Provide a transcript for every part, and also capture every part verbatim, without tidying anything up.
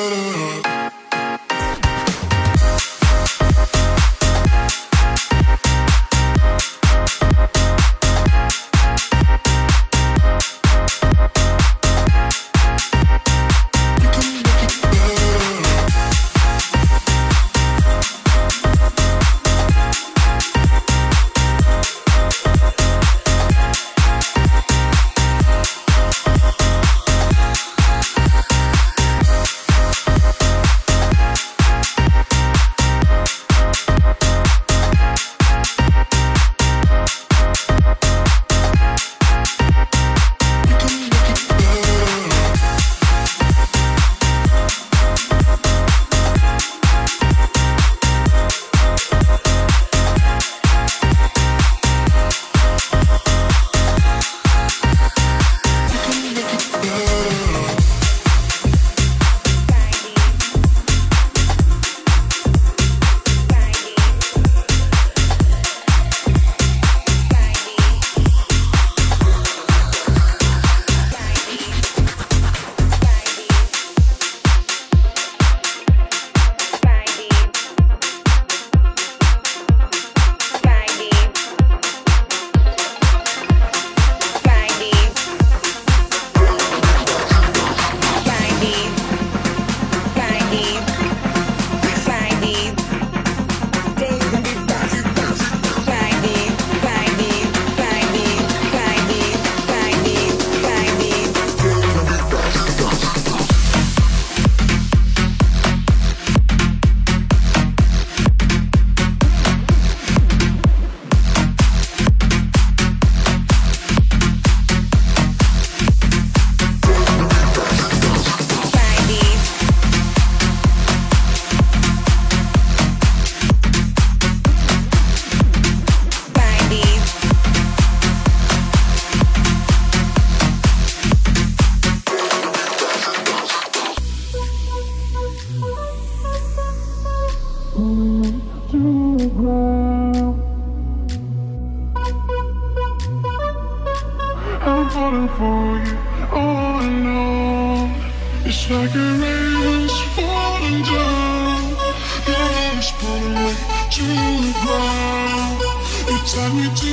falling for you. All I know, it's like a raven's falling down. Your love is pulling me to the ground. You tie me to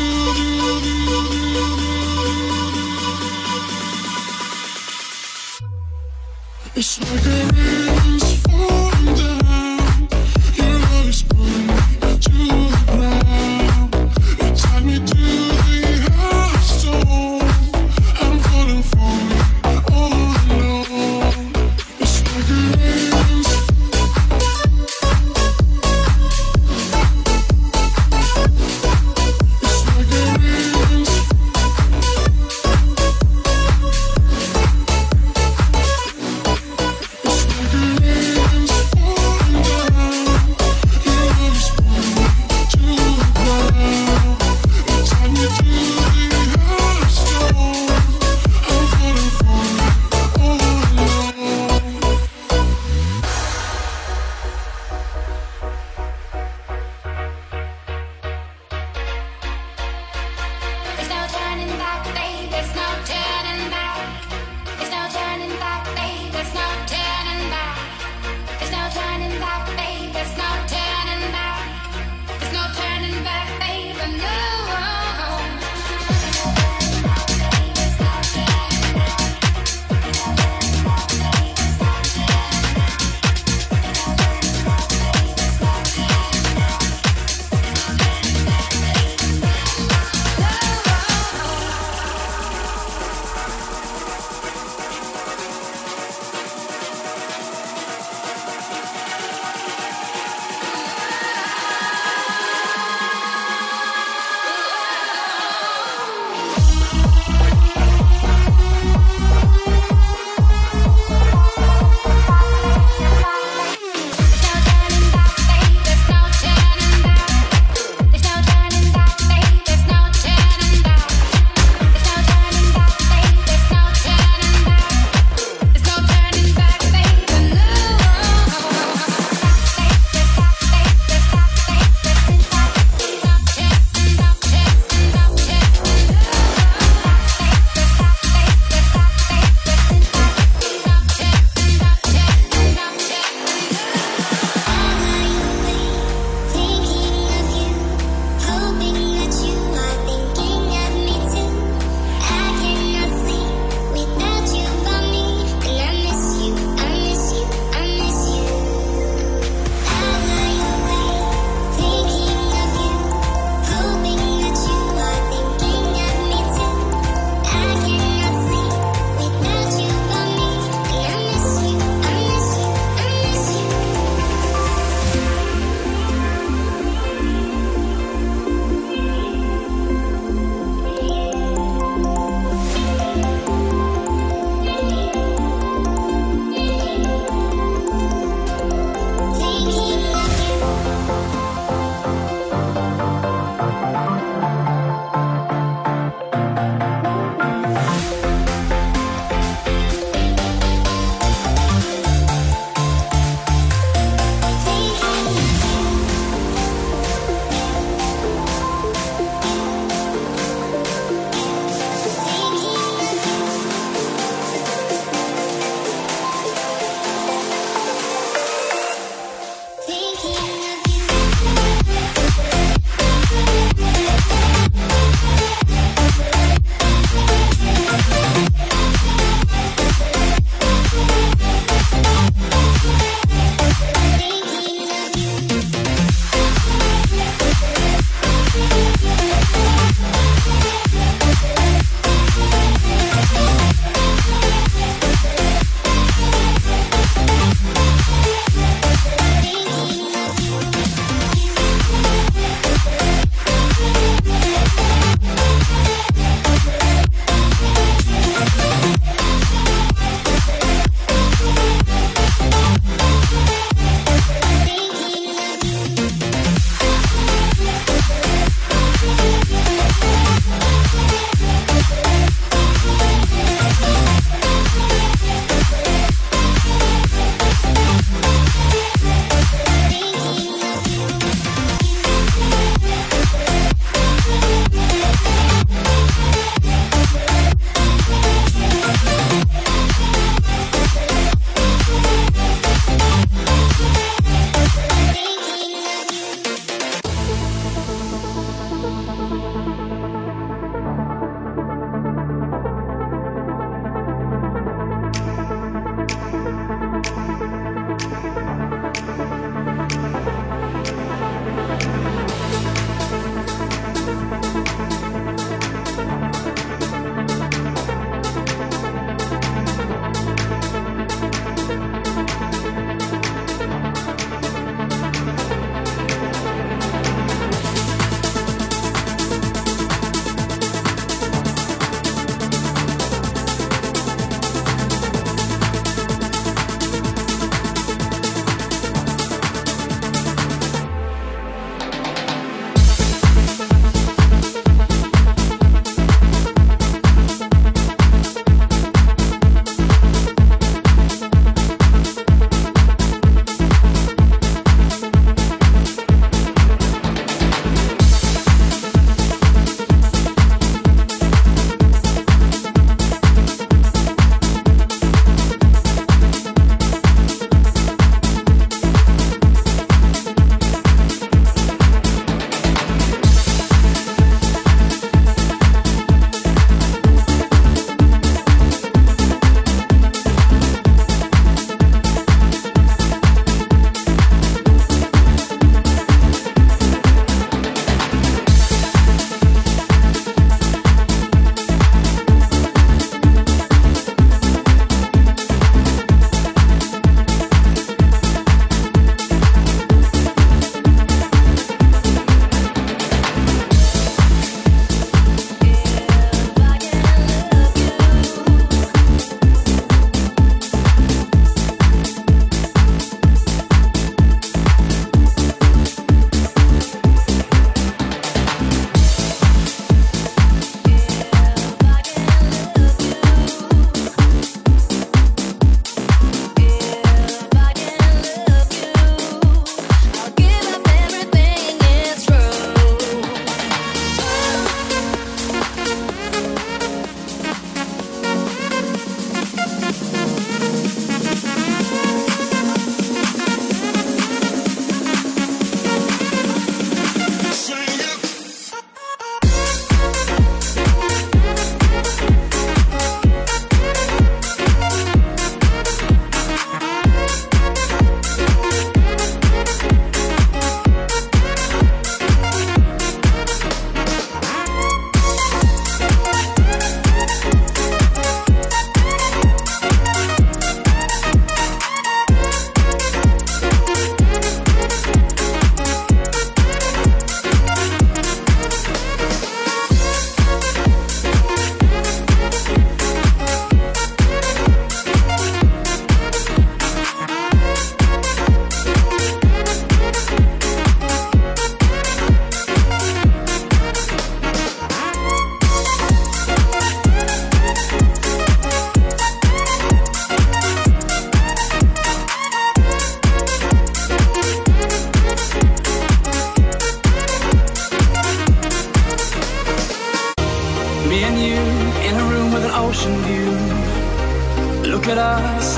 the It's like a raven's falling down. Your love is pulling me to the ground. You tie me to the hot stone. I'm falling for you all alone. It's like a raven's It's like a raven's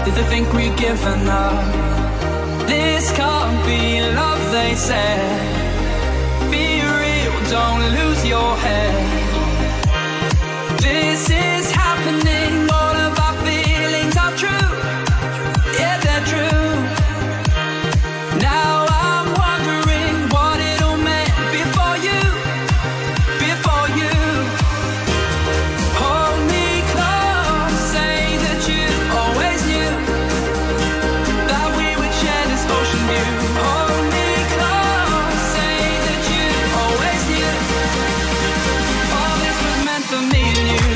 Did they think we'd given up? This can't be love, they said. Be real, don't lose your head. This is happening, all of our feelings are true. Yeah, they're true. Now I'm wondering what it all meant before you, before you. Hold me close, say that you always knew that we would share this ocean view. Hold me close, say that you always knew all this was meant for me and you.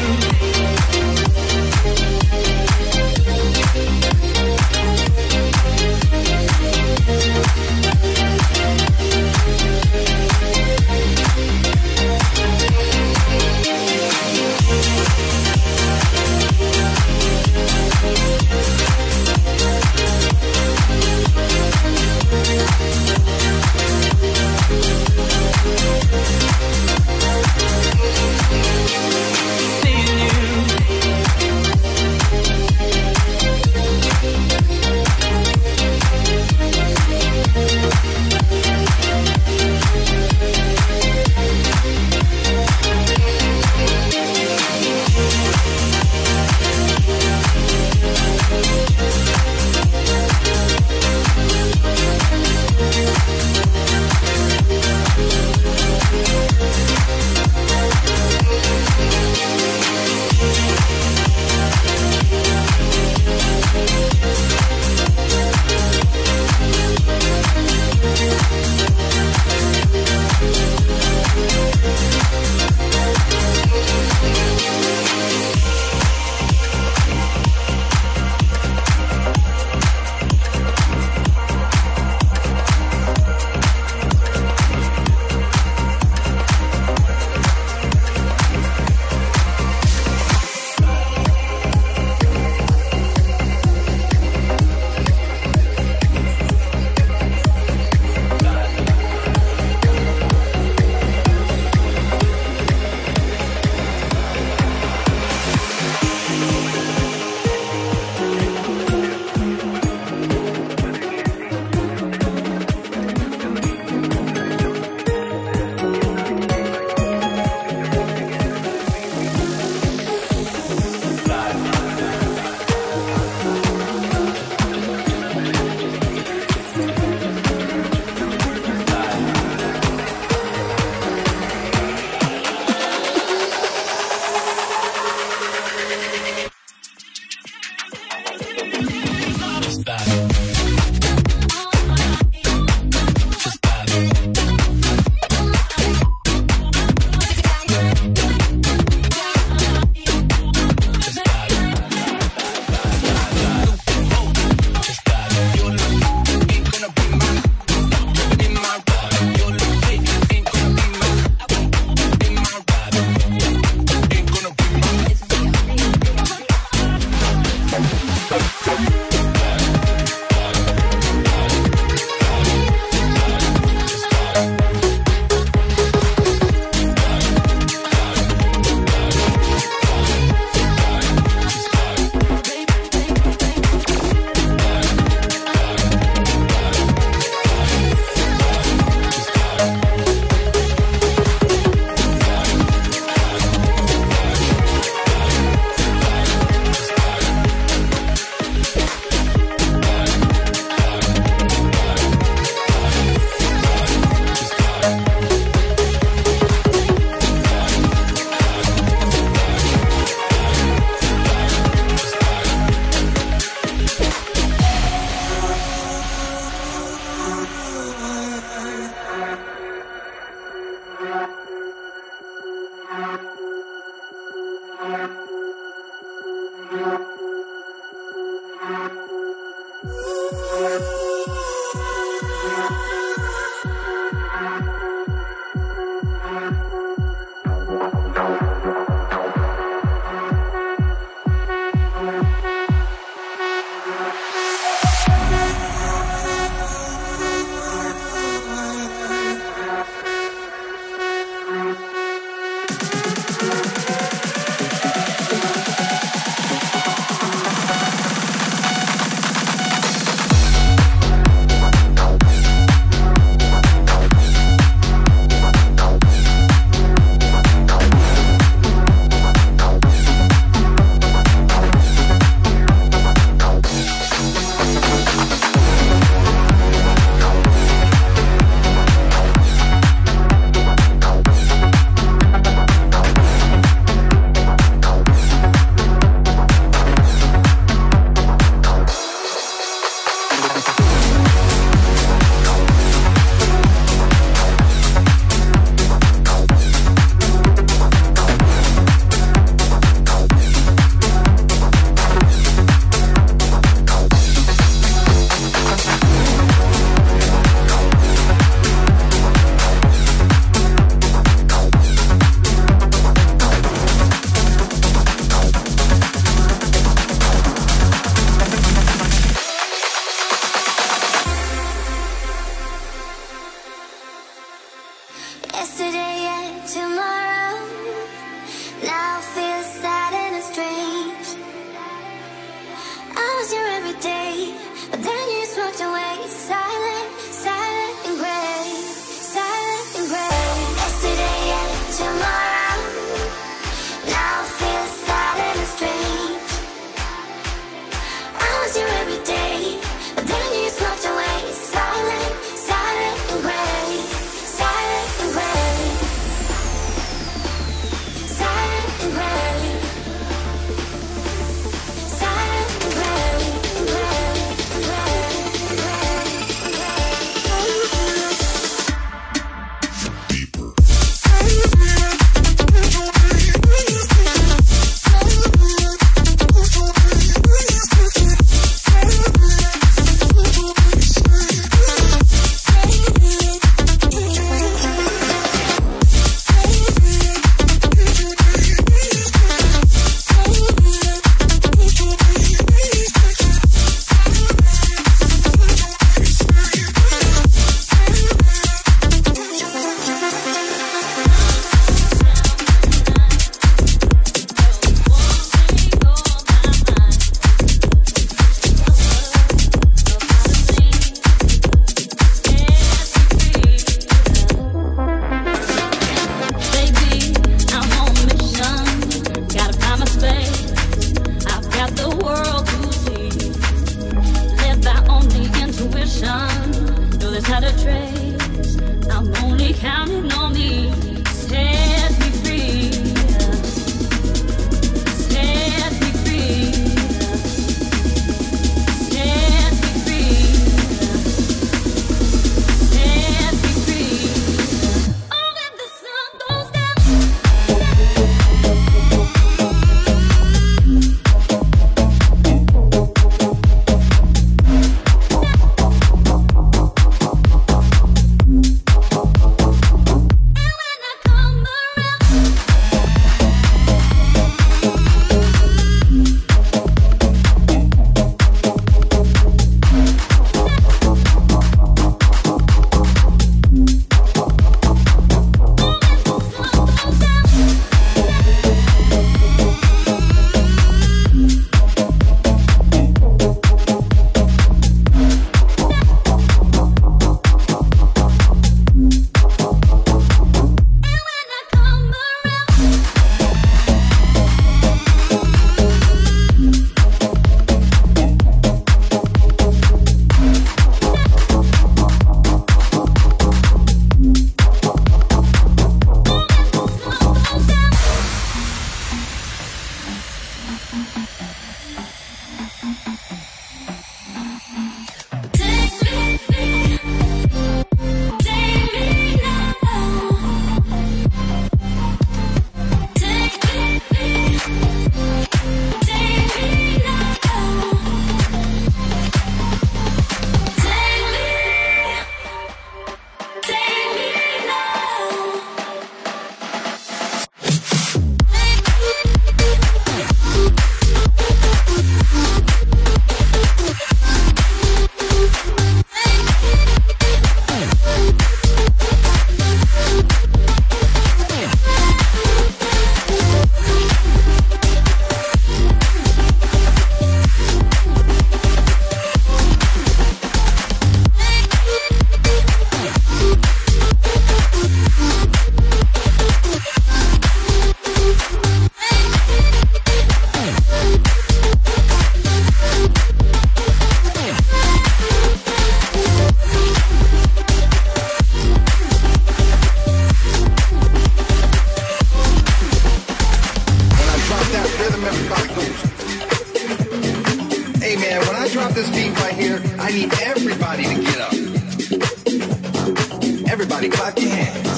everybody to get up. Everybody clap your hands.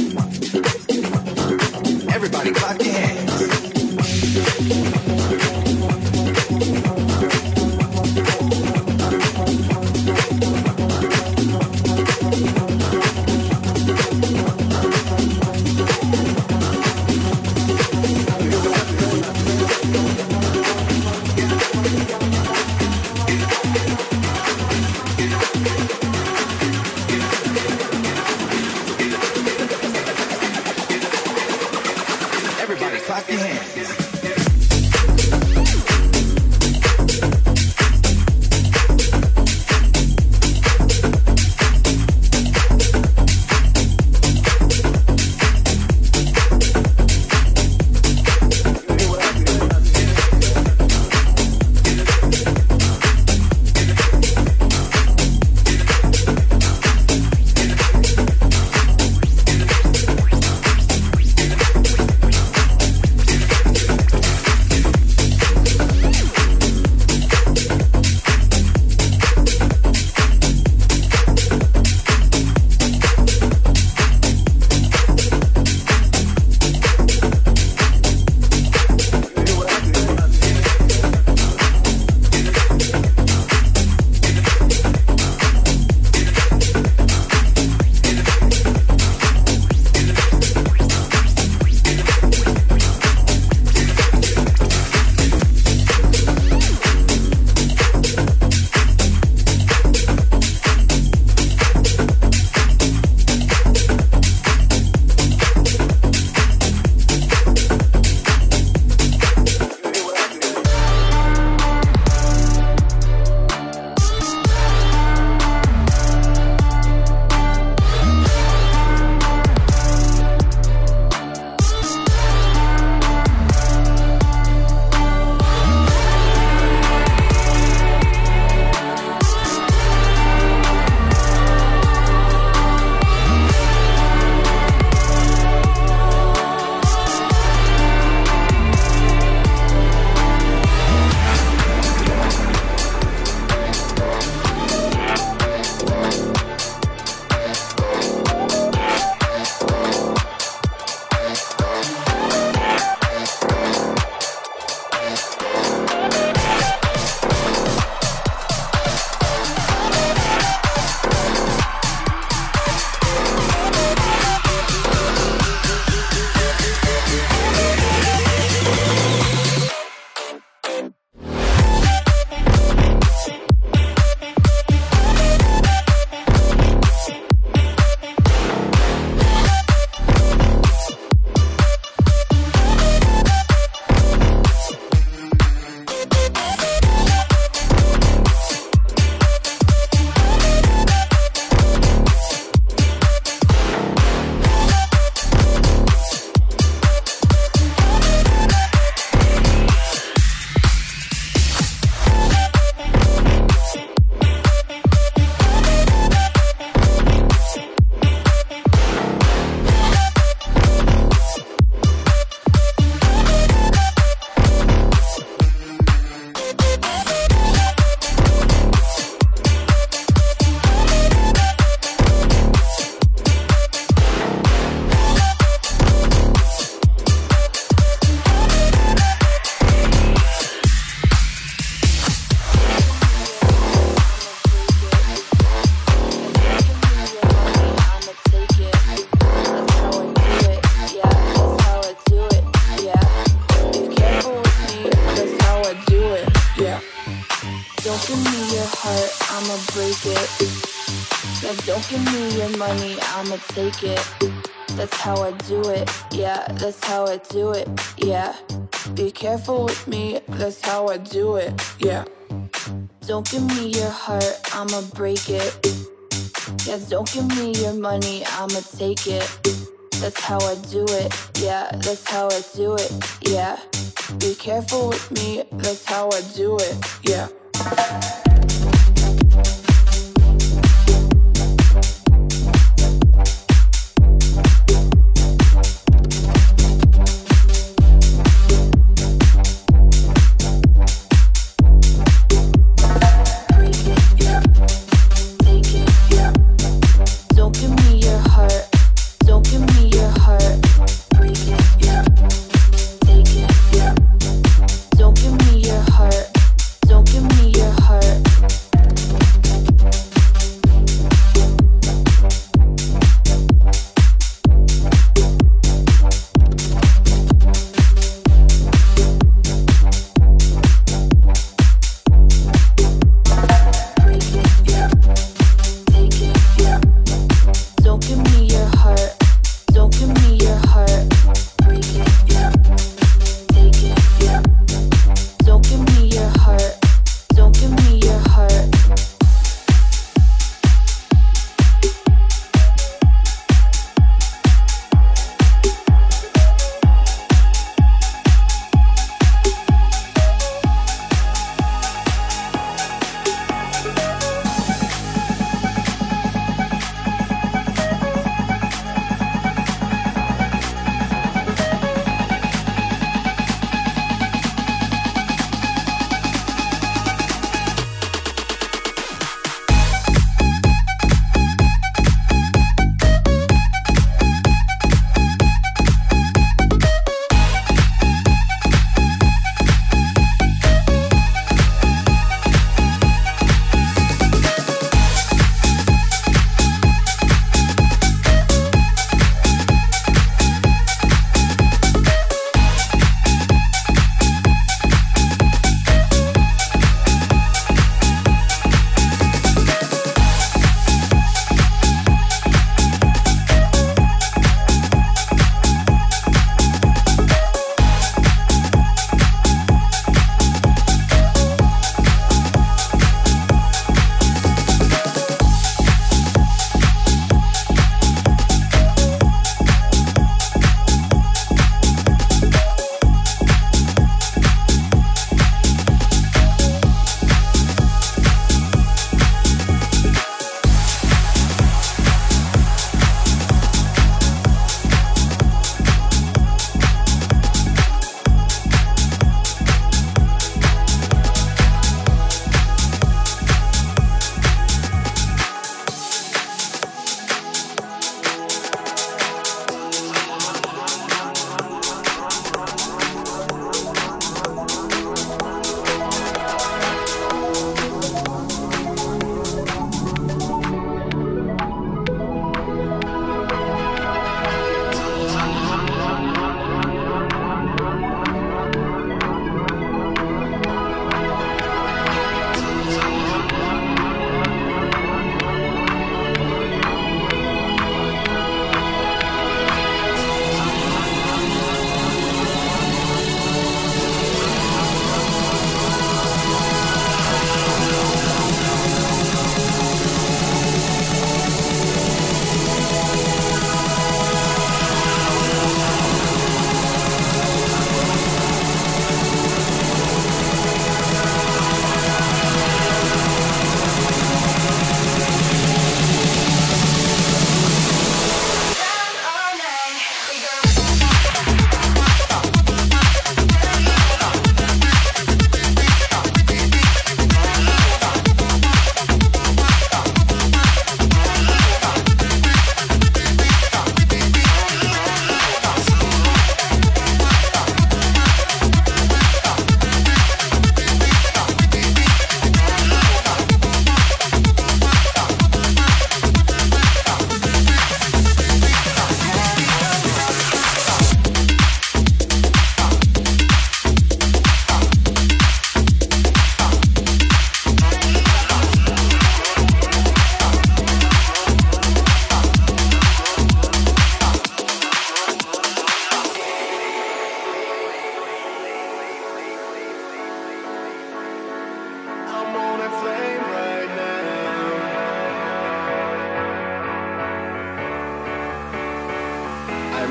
Everybody clap your hands. Everybody clap your hands. Don't give me your money, I'ma take it. That's how I do it, yeah, that's how I do it, yeah. Be careful with me, that's how I do it, yeah. Don't give me your heart, I'ma break it. Yeah, don't give me your money, I'ma take it. That's how I do it, yeah, that's how I do it, yeah. Be careful with me, that's how I do it, yeah. Break it, yeah.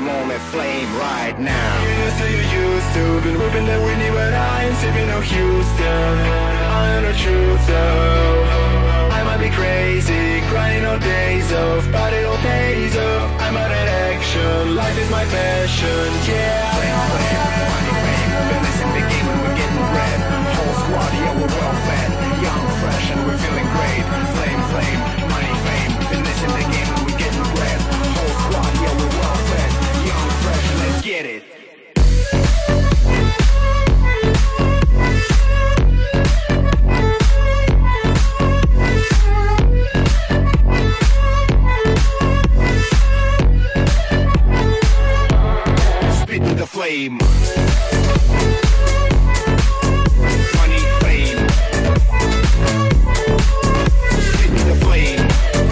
moment flame right now. Used to, you used to. Been whipping that Whitney, but I ain't sipping no Houston. I am the truth, though. I might be crazy, crying all days off, but it all pays off. I'm out of action, life is my passion, yeah. Flame, flame, money, fame. Finishing the game and we're getting bread. Whole squad, yeah, we're well fed. Young, fresh, and we're feeling great. Flame, flame, money, fame. Finishing the game and we're getting bread. Whole squad, yeah, we're well fed. Young, fresh, and let's get it. Spitting the flame. Money, fame. Spitting the flame.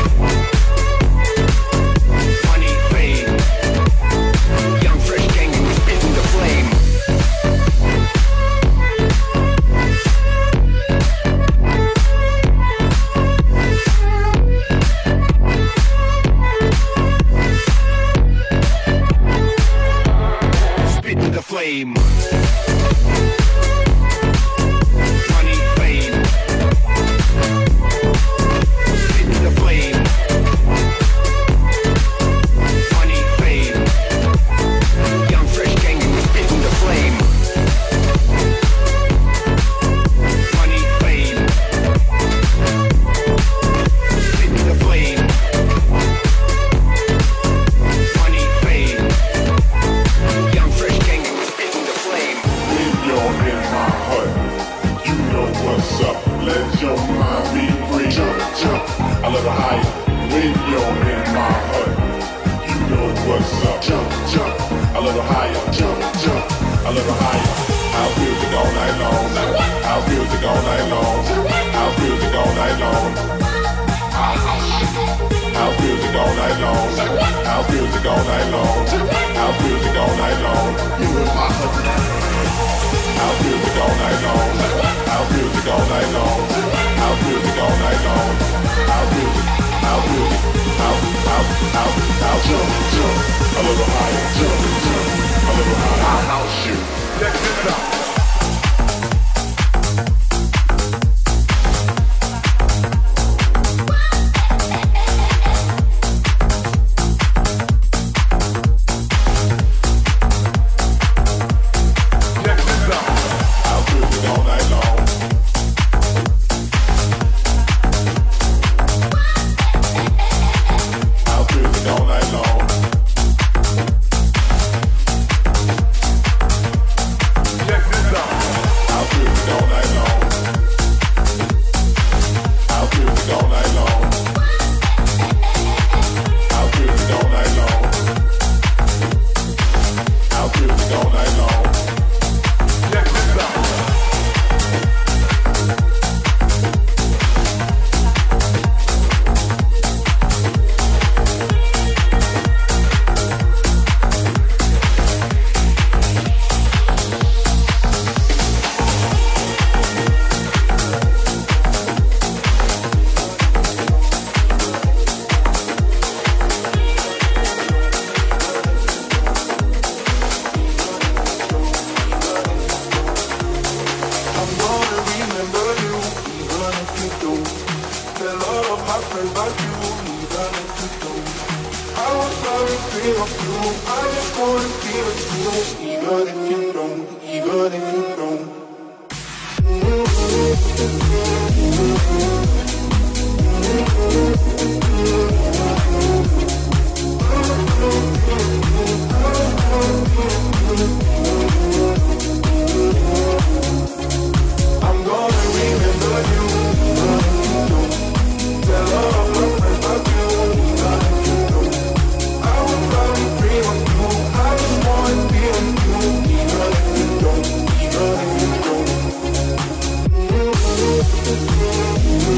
Money, fame. Young, fresh gang, and we're spitting the flame. Spitting the flame. Money, fame. Spitting the flame. Money, fame. Young, fresh gang, and we're spitting the flame. Money, fame. Spitting the flame. Money, fame. Young, fresh gang, and we're spitting the flame. When you're in my heart, you know what's up. Let your mind be free. Jump, jump, a little higher. When you're in my heart, you know what's up. Jump, jump, a little higher. Jump, jump, a little higher. House music all night long. House music all night long. House music all night long. House music all night long. House music all night long. House music all night long. You in my heart. House music all night long. House music all night long. House music all night long. House music, house music, house, house, house, house. Jump, jump, a little higher. Jump, jump, a little higher. I'll house you. Let's get it up. Even if you don't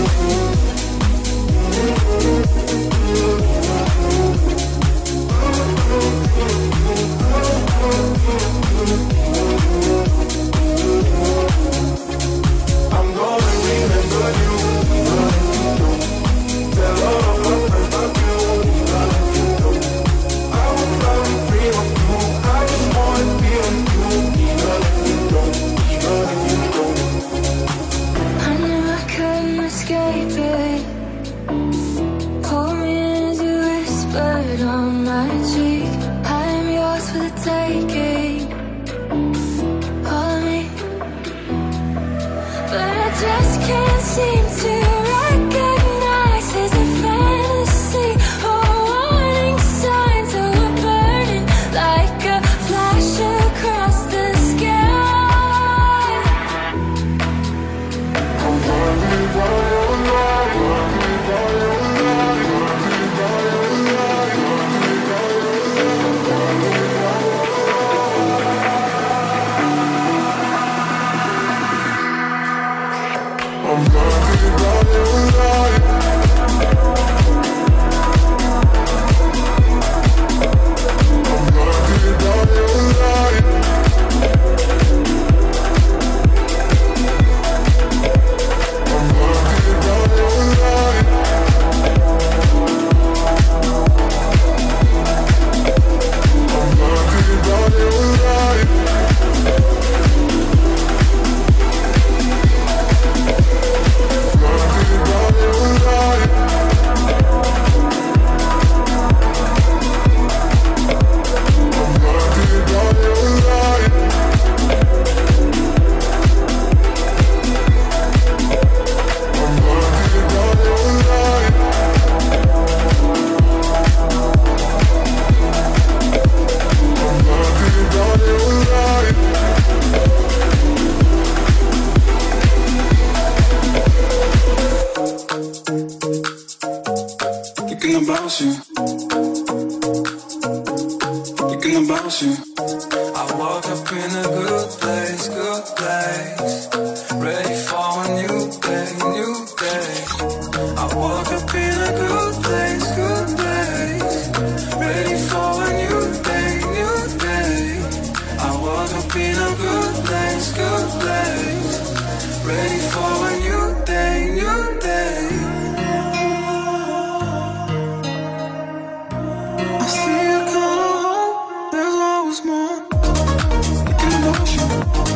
blood on my cheek. I'm yours for the taking. Hold me, but I just can't seem to recognize. Is it fantasy or warning signs? So we're burning like a flash across the sky. I'm burning by your light. I'm blinded by your light. I'm blinded by your light. I'm blinded by your light. I'm blinded by your light. Thinking about you. Thinking about you. I woke up in a good place, good place. Ready for a new day, new day. I woke up in a good place, good place. Ready for a new day, new day. I woke up in a good place, good place. Ready for a new day, new day. I see a color hope, there's always more. Thinking about you.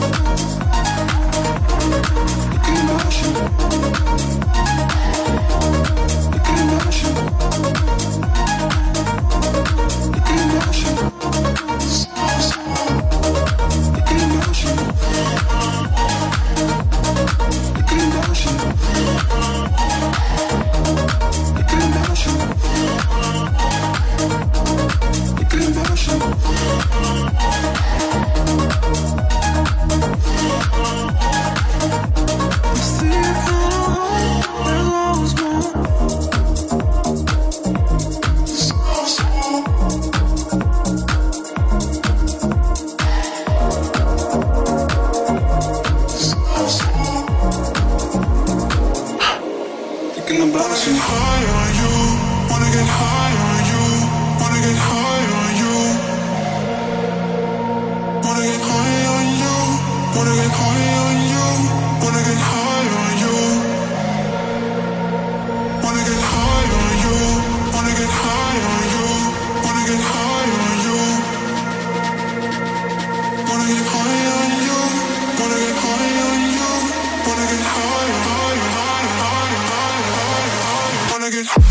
Thinking about you. Thinking about you. Thinking about you. Thinking about you. Thinking about you. Thinking about you. Thinking about you. I see a color hope, there's always more. Thinking about you. High on you, wanna get high on you, wanna get high on you, wanna get high on you, wanna get high on you, wanna get high on you, wanna get high on you, wanna get high on you, wanna get high on you, wanna get high on you, wanna get high on you, wanna get high, high, high, high, high, high, wanna get high.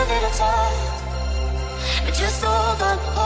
little time. But just hold on.